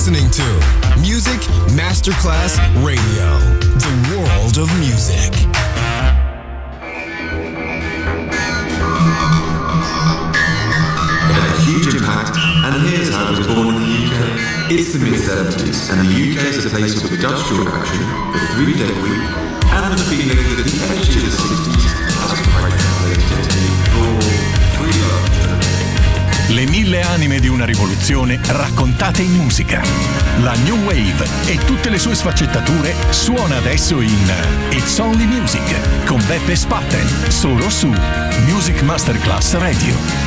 listening to Music Masterclass Radio, the world of music. It had a huge impact, and here's how it was born in the UK. It's the mid-70s, and the UK is a place with industrial action, the 3-day week, and the feeling that the edge of the 60s has quite translated into free love. Le 1000 anime di una rivoluzione raccontate in musica. La New Wave e tutte le sue sfaccettature suona adesso in It's Only Music con Beppe Spatten, solo su Music Masterclass Radio.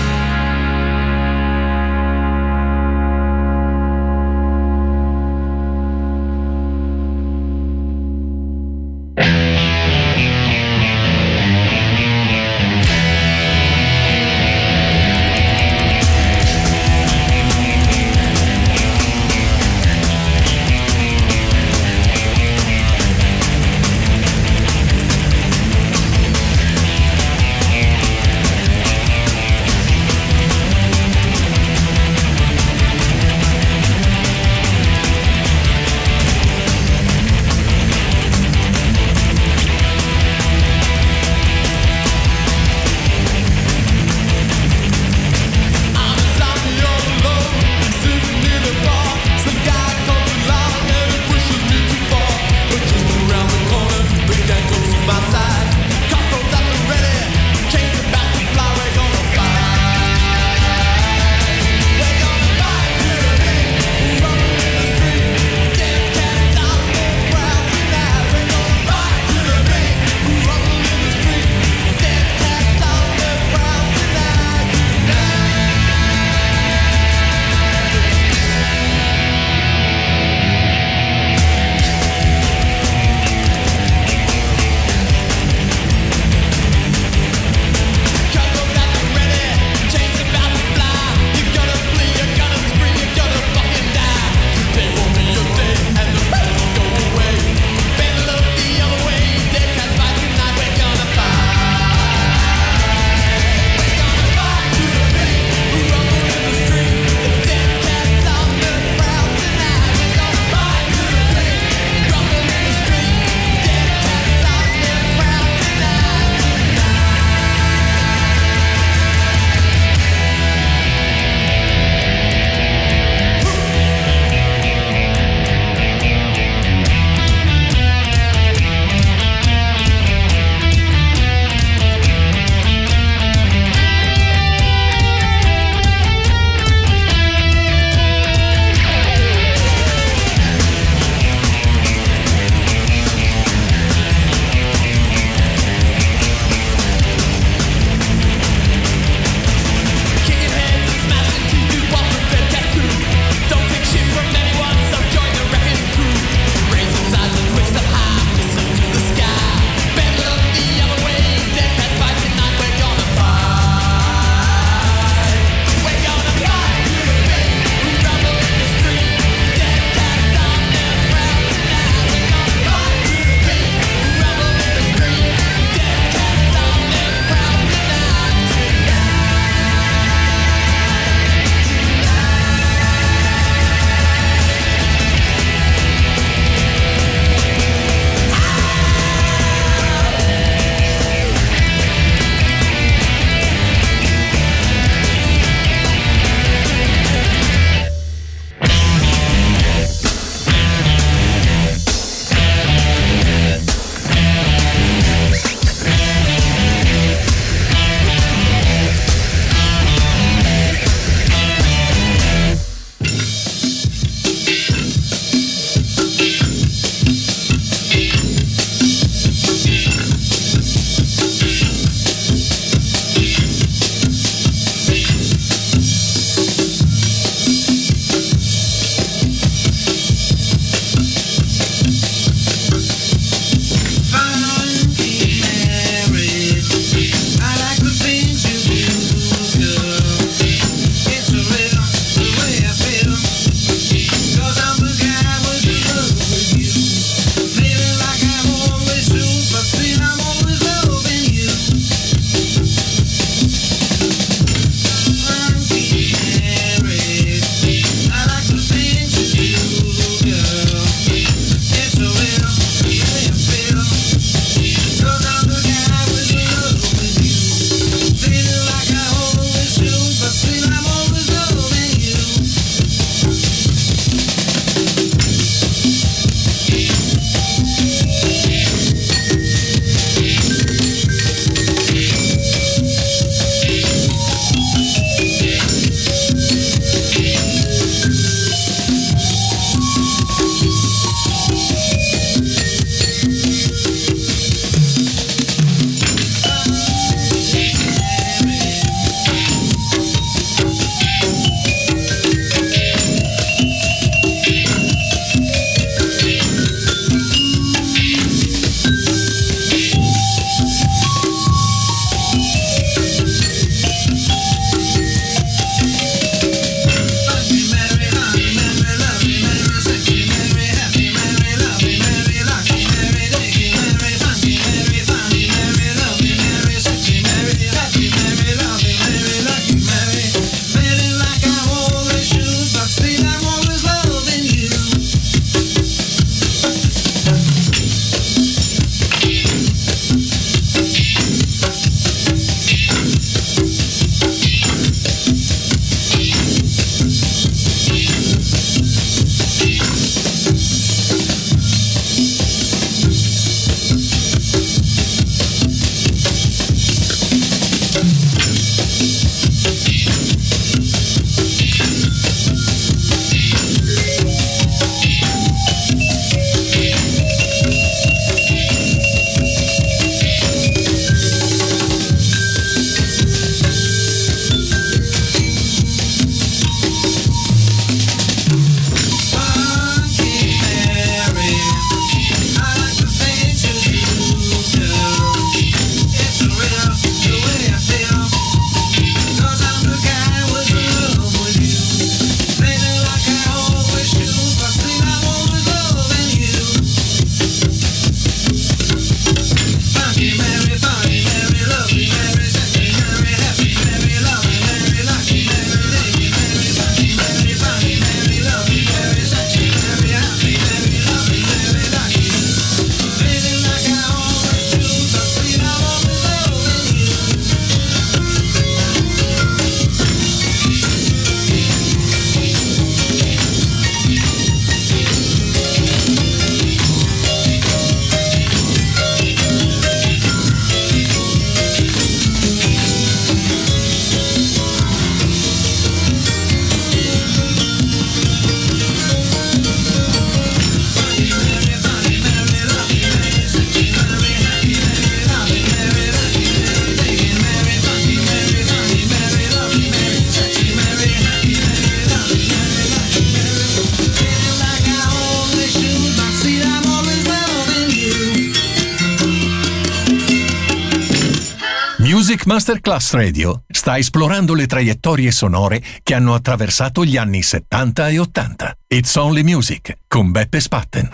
Music Masterclass Radio sta esplorando le traiettorie sonore che hanno attraversato gli anni 70 e 80. It's Only Music con Beppe Spatten.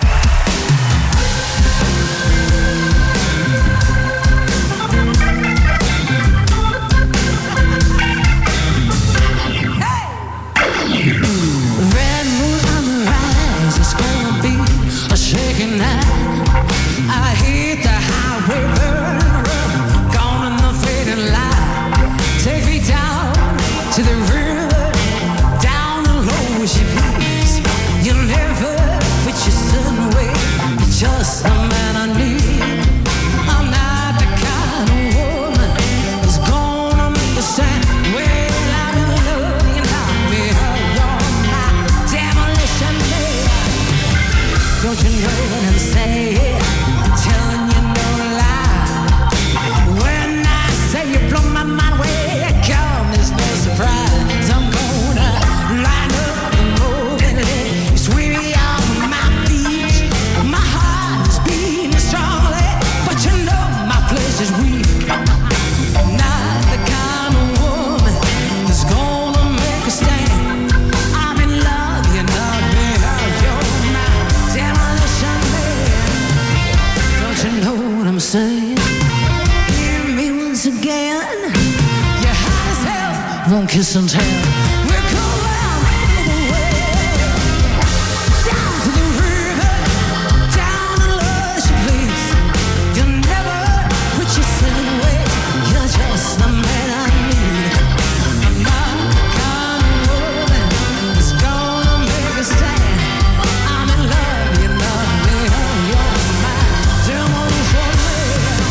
Red moon on the rise, it's gonna be a shaking night. I hit the highway burn, gone in the fading light. Take me down to the river, down the low as you please. You'll never put your son away, you're just the man I need. I'm not the kind of woman who's gonna make a stand. Well, I'm in love, you knock me out, you're my demolition man. Don't you know what I'm saying? Telling you no lie. When I say you blow my mind, where you come, there's no surprise. I'm gonna line up and move and sweep me off my feet. My heart is beating strongly, but you know my flesh is weak. Not the kind of woman who's gonna make a stand. I'm in love, you know me, you're my demolition man. Don't you know what I'm saying? Hear me once again. You're hot as hell, won't kiss and tell. We're going all the way down to the river, down the lush place. You'll never put yourself away. You're just the man I need. I'm not the kind of woman that's gonna make a stand. I'm in love, you know me, you're my demolition man.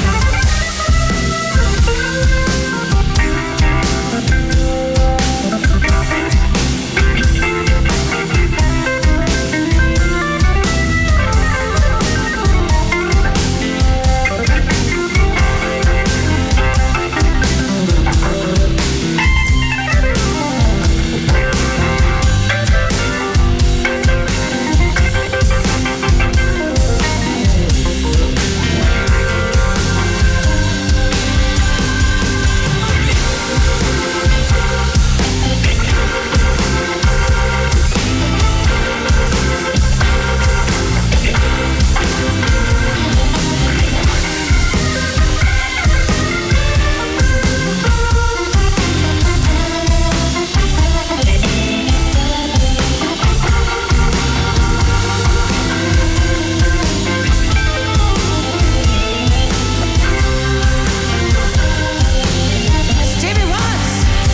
Stevie Wonder.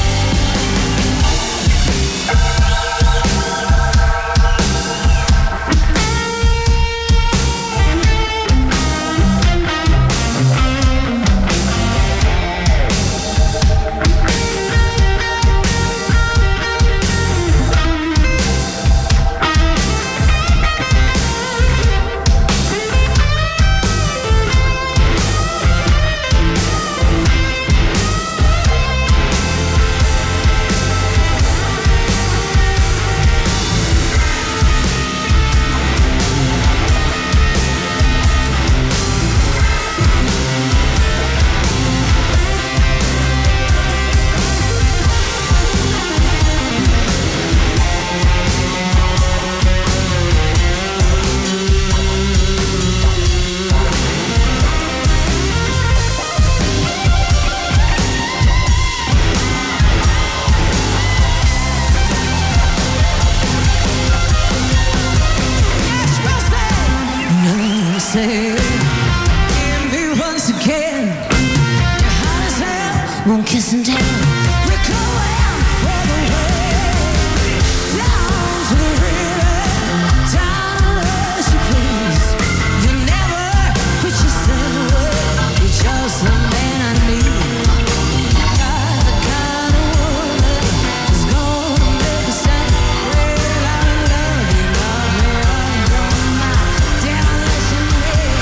Say, hear me once again. You're hot as hell, won't kiss and tell. We're going all the way down to the river, down the lush place. You never put yourself away. You're just the man I need. Not the kind of woman who's gonna make a stand. Well, I'm in love, you know me, you're my demolition man.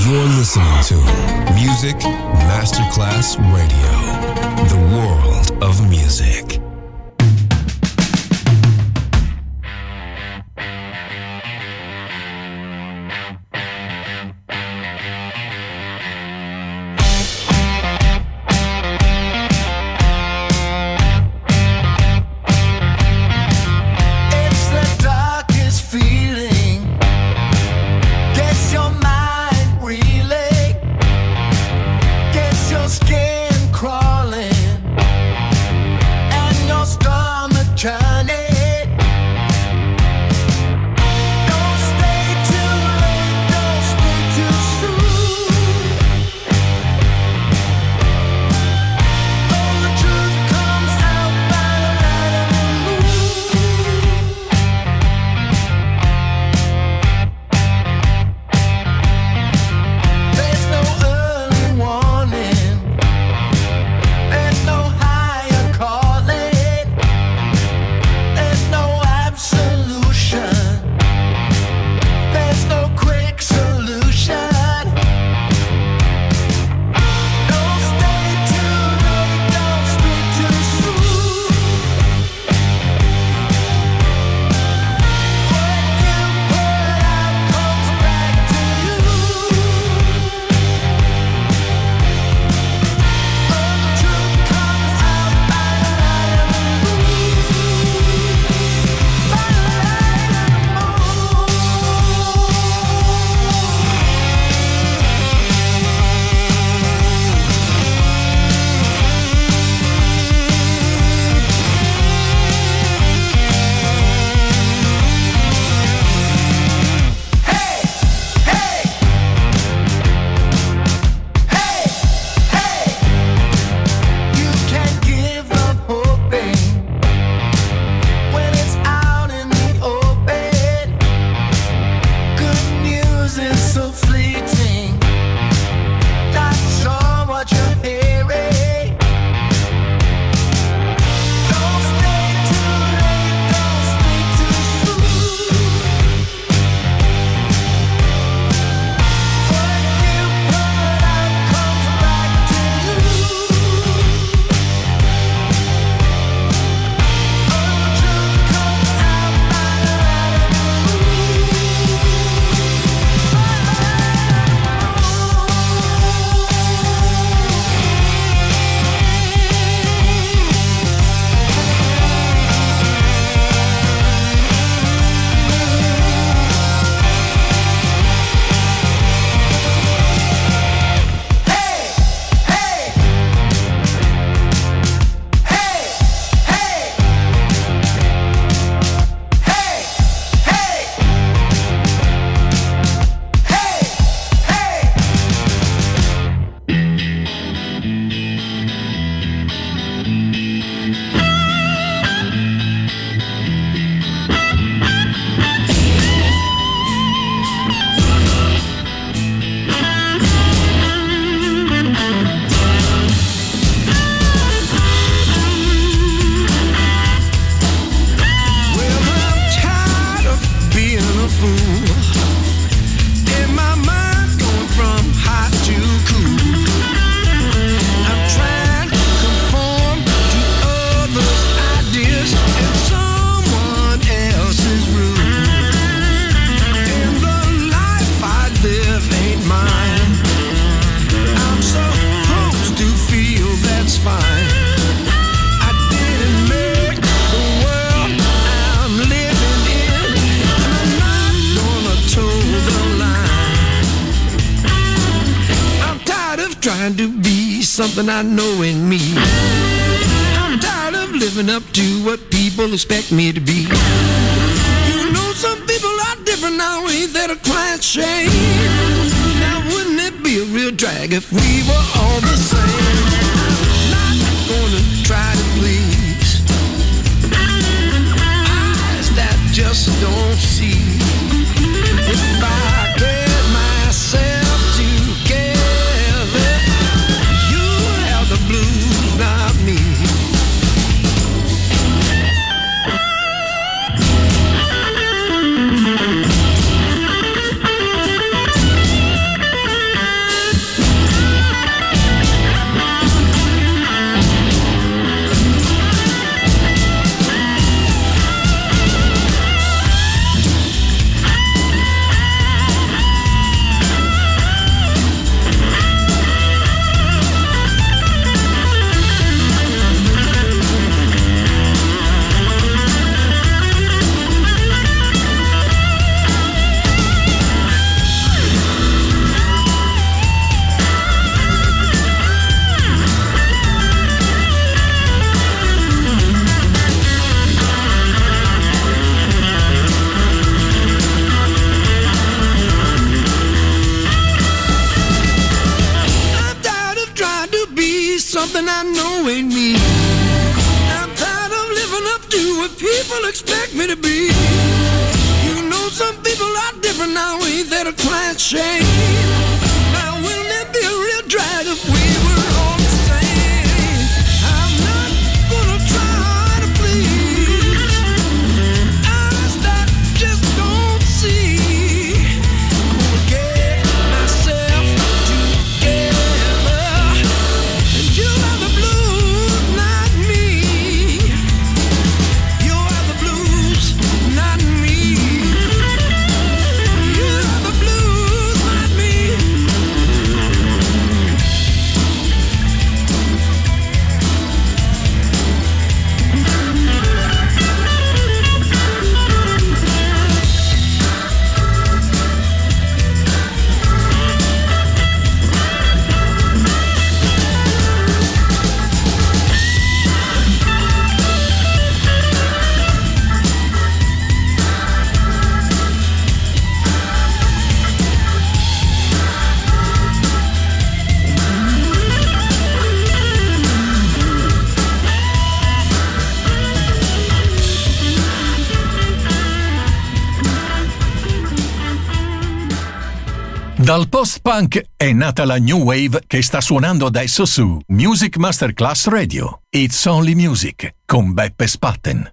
You're listening to Music Masterclass Radio, the world of music. Something I know in me. I'm tired of living up to what people expect me to be. You know some people are different now, ain't that a quiet shame? Now wouldn't it be a real drag if we were all the same? I'm not gonna try to please eyes that just don't see. If I get myself together, you have the blues, not me. something I know ain't me. I'm tired of living up to what people expect me to be. You know some people are different now, ain't that a client shame? Now wouldn't it be a real drag if we were all the same? I'm not gonna try to please eyes that just don't see. I'm gonna get myself together, and you have the blues, not me. You have the blues, not me. You have the blues, not me. Dal post-punk è nata la New Wave che sta suonando adesso su Music Masterclass Radio. It's Only Music con Beppe Spatten.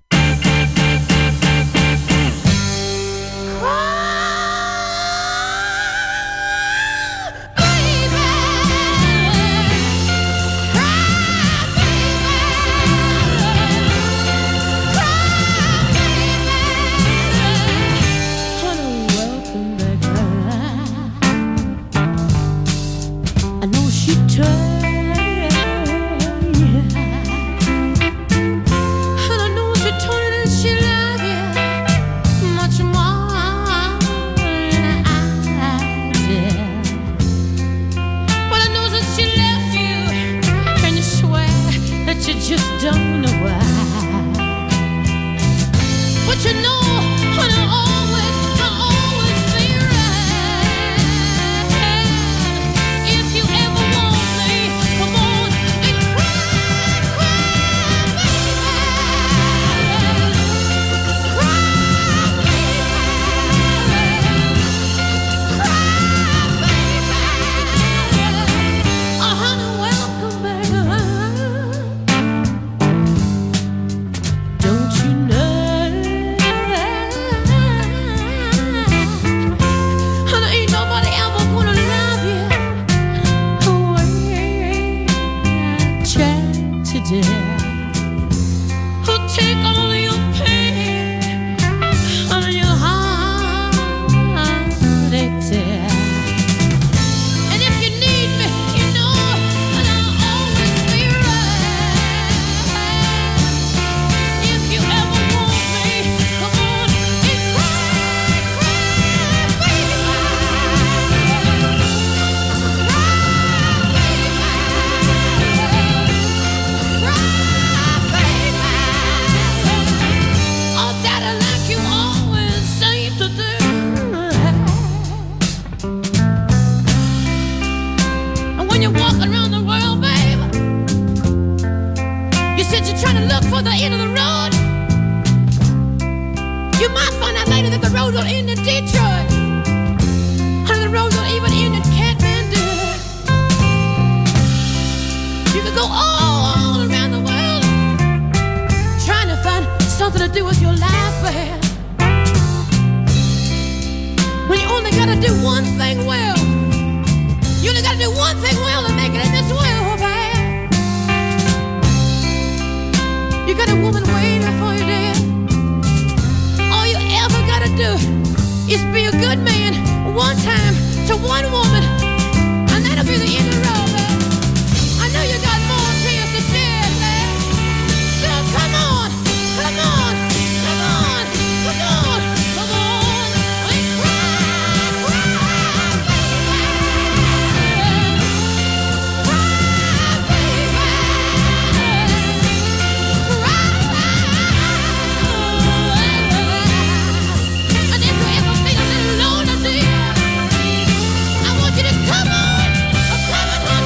I want you to come on.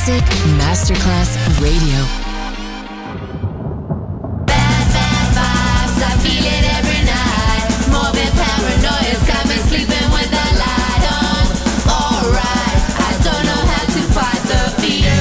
Music Masterclass Radio. Bad, bad vibes, I feel it every night. Morbid paranoia's got me sleeping with the light on. Alright, I don't know how to fight the fear.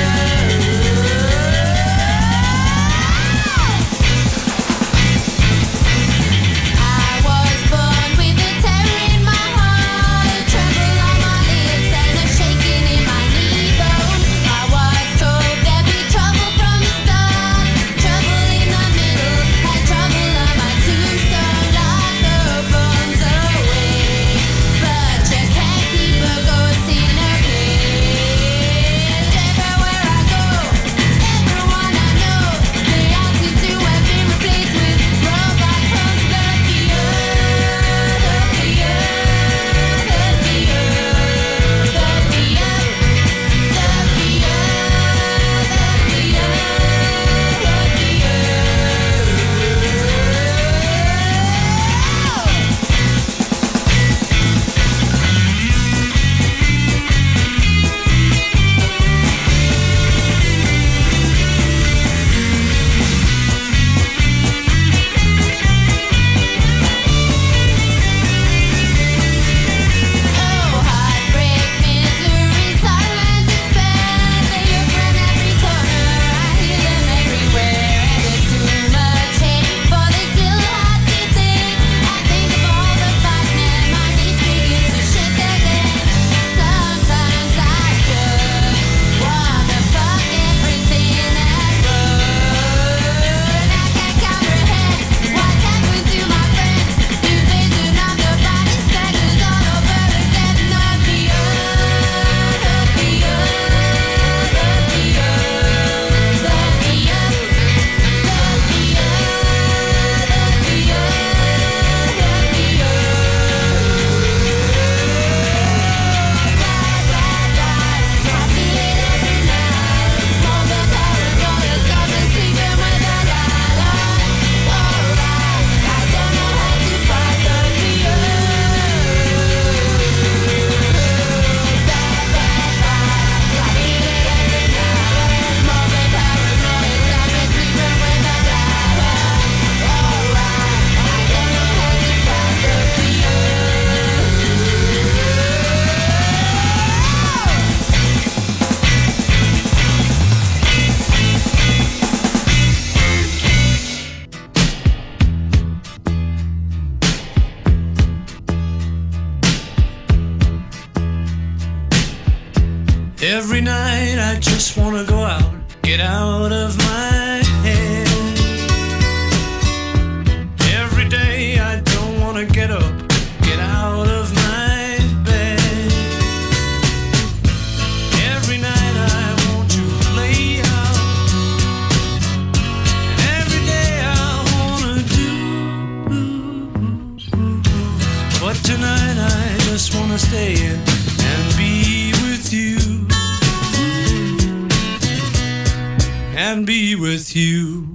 Every night I just wanna go out, get out of my head. Every day I don't wanna get up, get out of my bed. Every night I want to lay out, and every day I wanna do. But tonight I just wanna stay in and be with you. And be with you.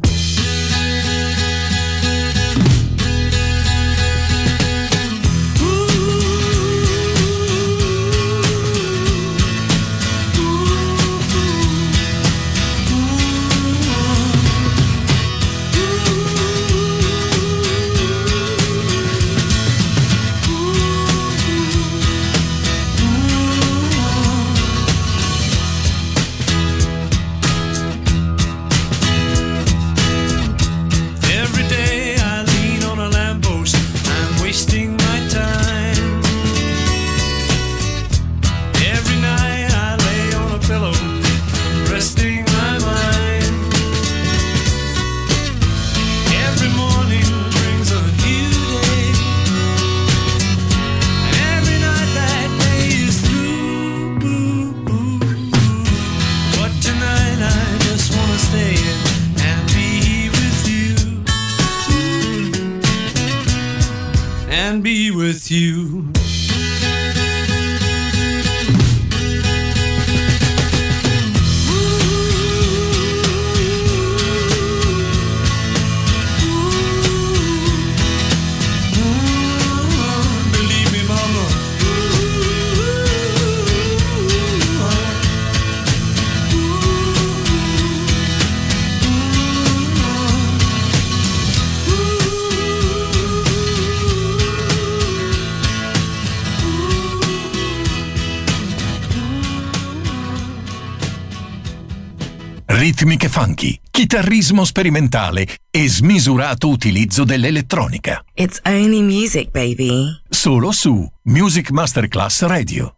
And be with you. Believe me, mama. ritmiche funky, chitarrismo sperimentale e smisurato utilizzo dell'elettronica. It's only music, baby. Solo su Music Masterclass Radio.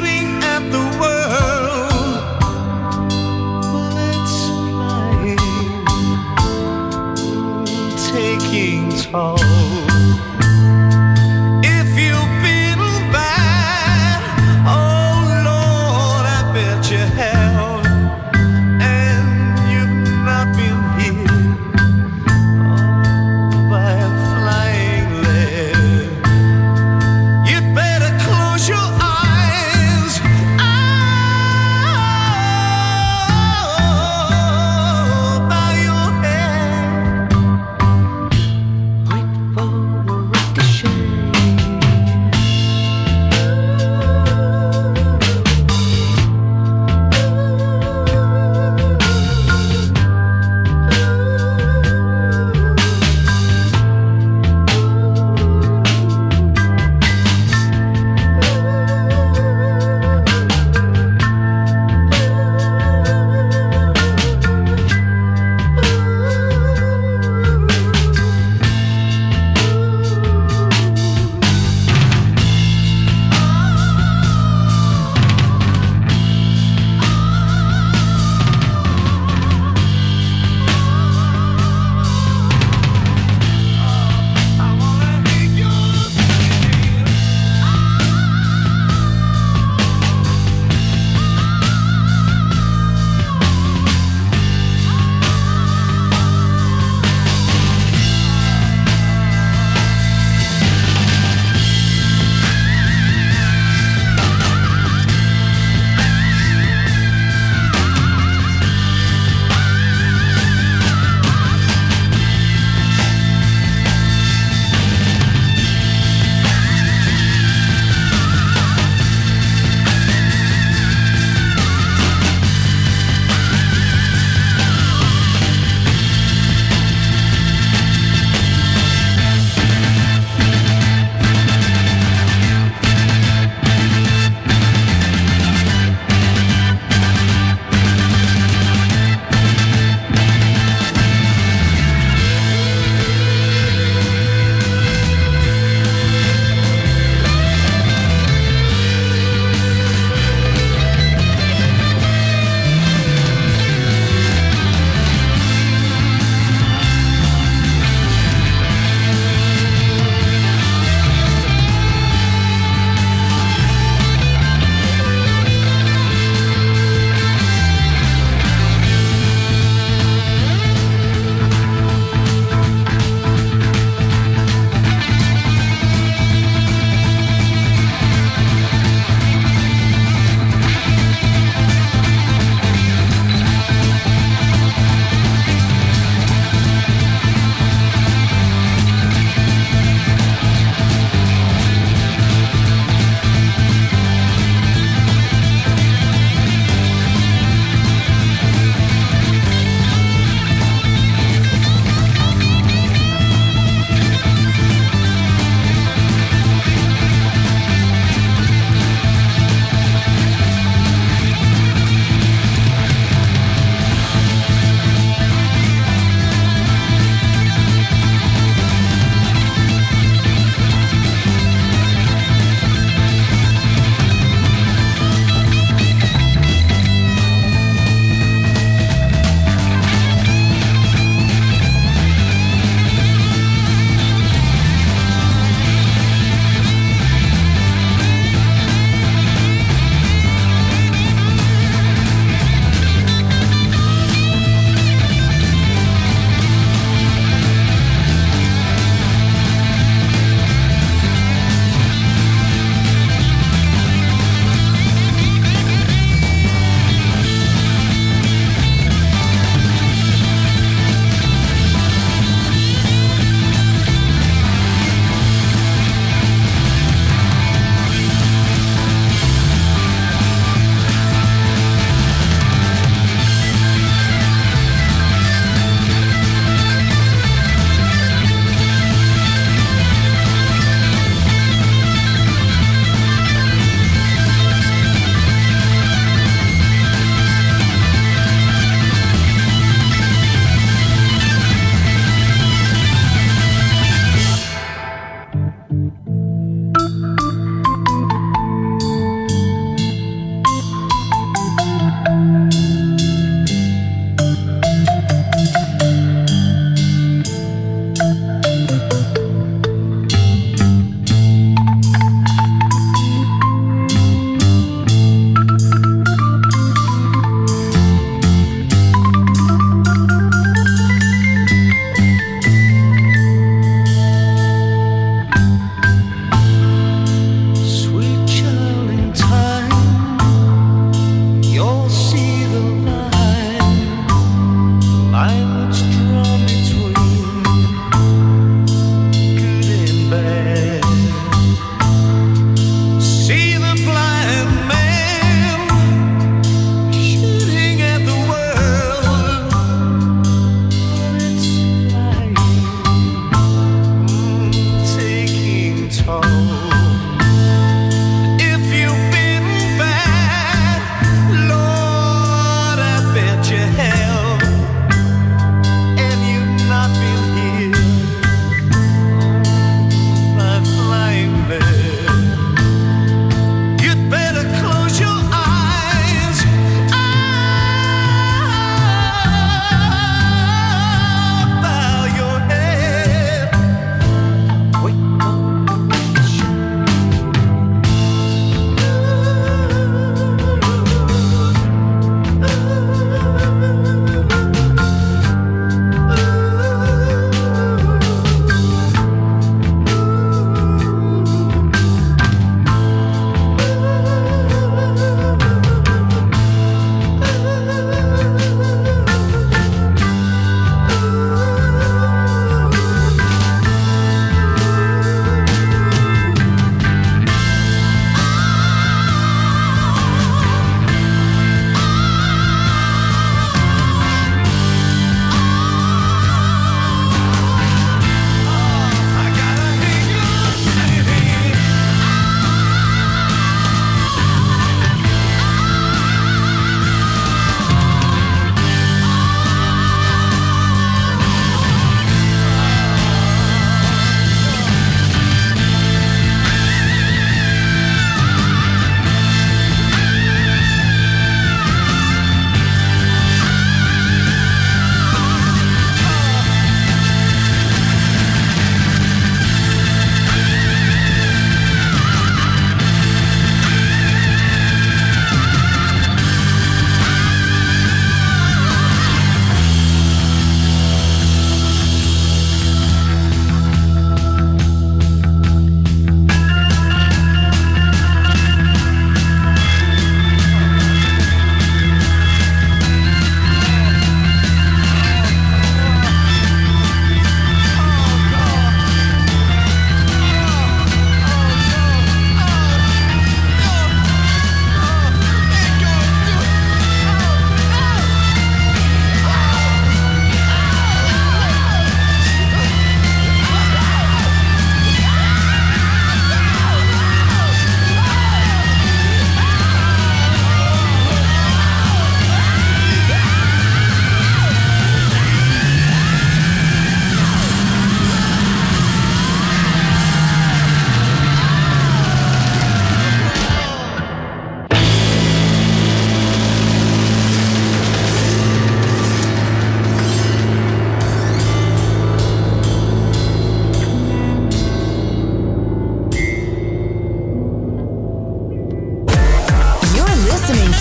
Shooting at the world, bullets flying. call. If you've been bad, oh Lord, I bet you have, and you've not been hit by a flying lead. You'd better close your eyes. Bow your head. Wait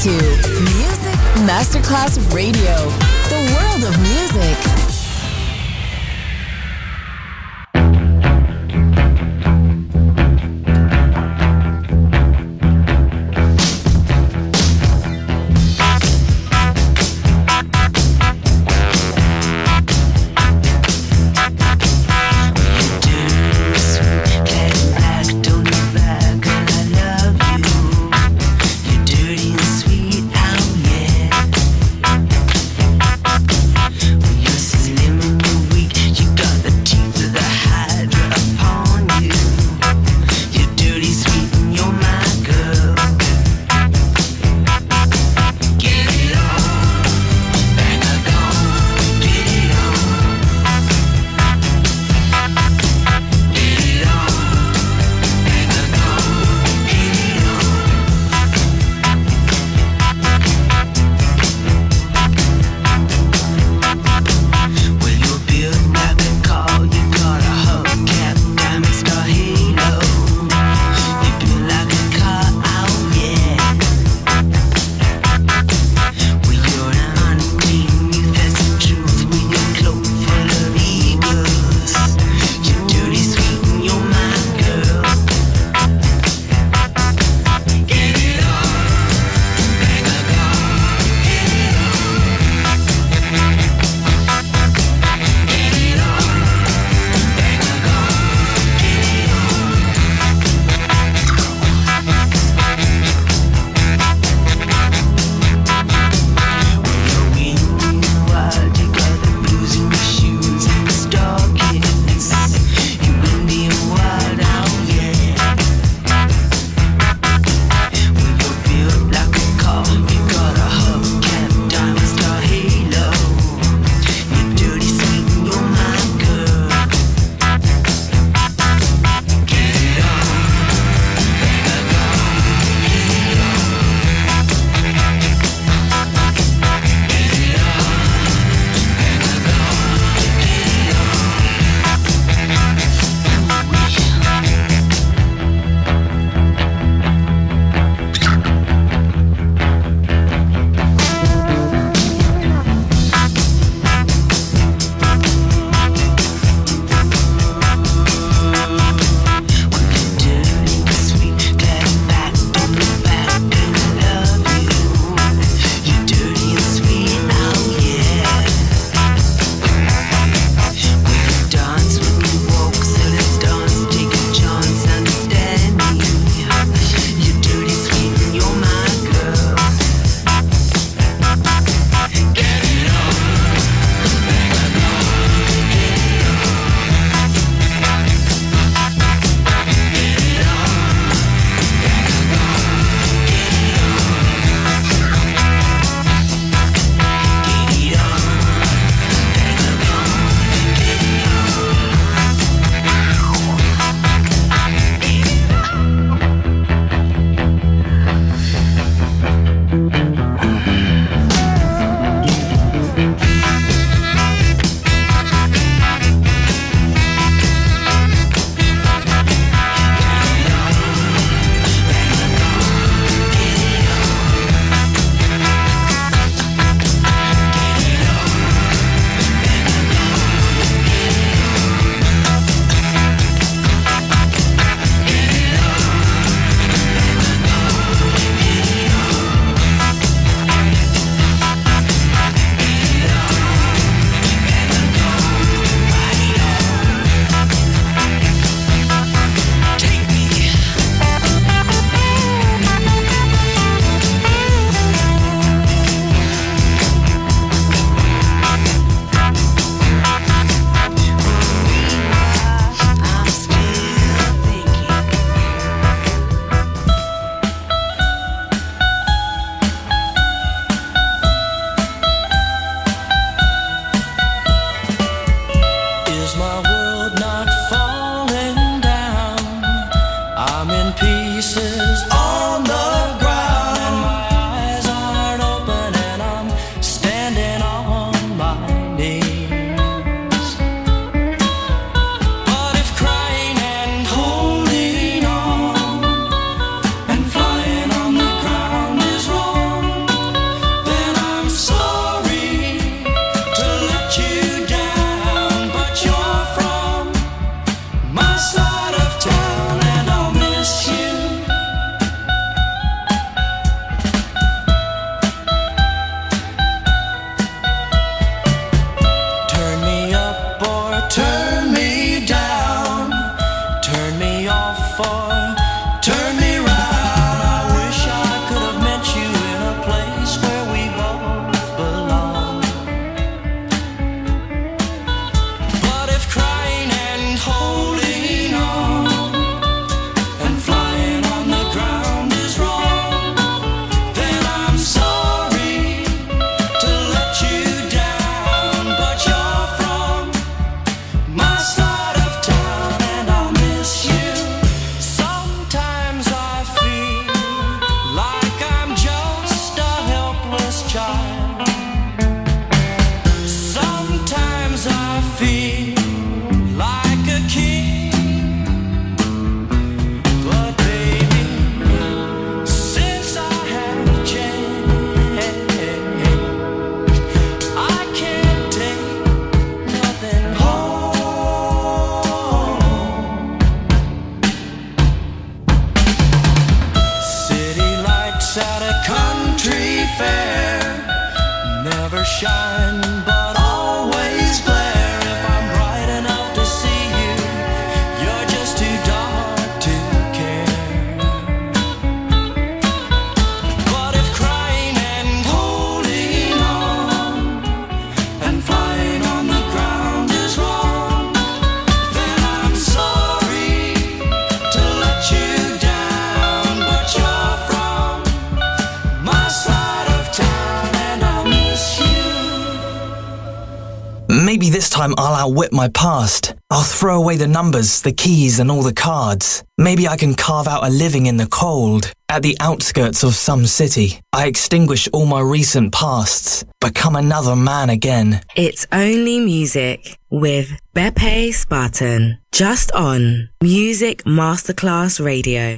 to Music Masterclass Radio, the world of music. You're before. Turn me round, I wish I could have met you in a place where we both belong. But if crying and holding on and flying on the ground is wrong, then I'm sorry to let you down. But you're from my side of town and I'll miss you. Sometimes I feel like I'm just a helpless child. Sometimes I feel like a king. But baby, since I have changed, I can't take nothing home. City lights at a country fair never shine but always glare. If I'm bright enough to see you, you're just too dark to care. But if crying and holding on and flying on the ground is wrong, then I'm sorry to let you down. But you're from my side of town and I'll miss you. Maybe this time I'll outwit my past. I'll throw away the numbers, the keys and all the cards. Maybe I can carve out a living in the cold, at the outskirts of some city. I extinguish all my recent pasts, become another man again. It's Only Music with Beppe Spartan. Just on Music Masterclass Radio.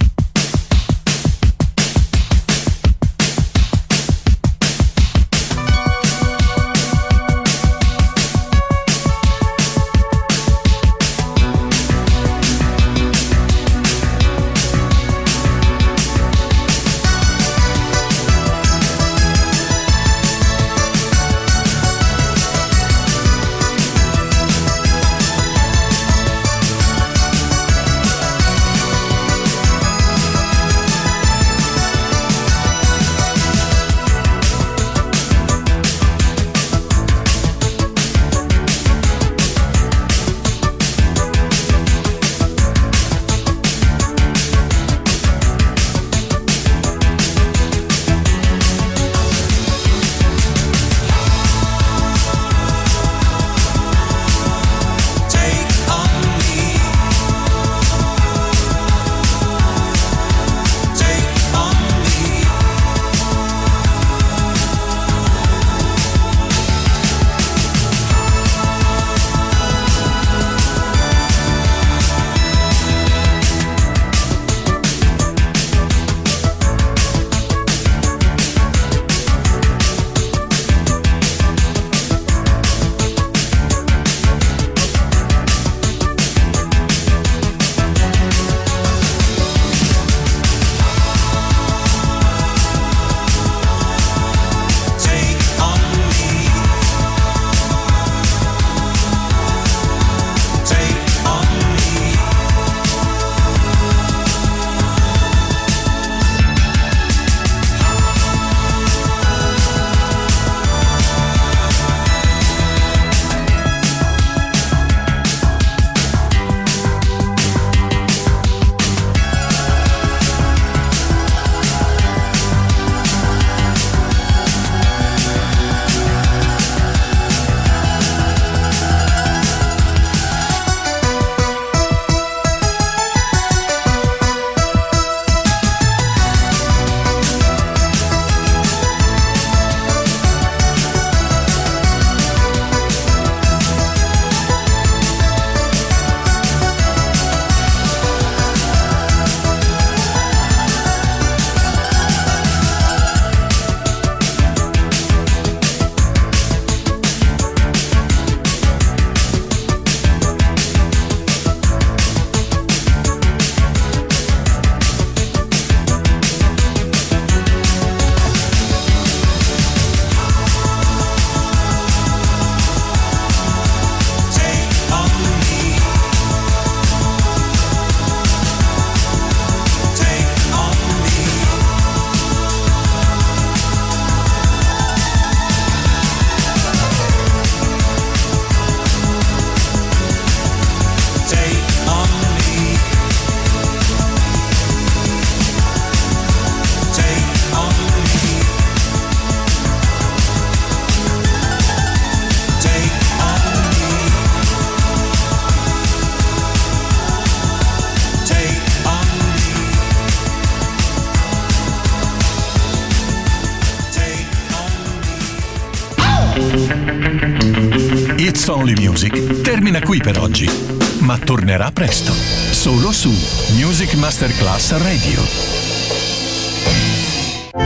It's Only Music termina qui per oggi, ma tornerà presto, solo su Music Masterclass Radio.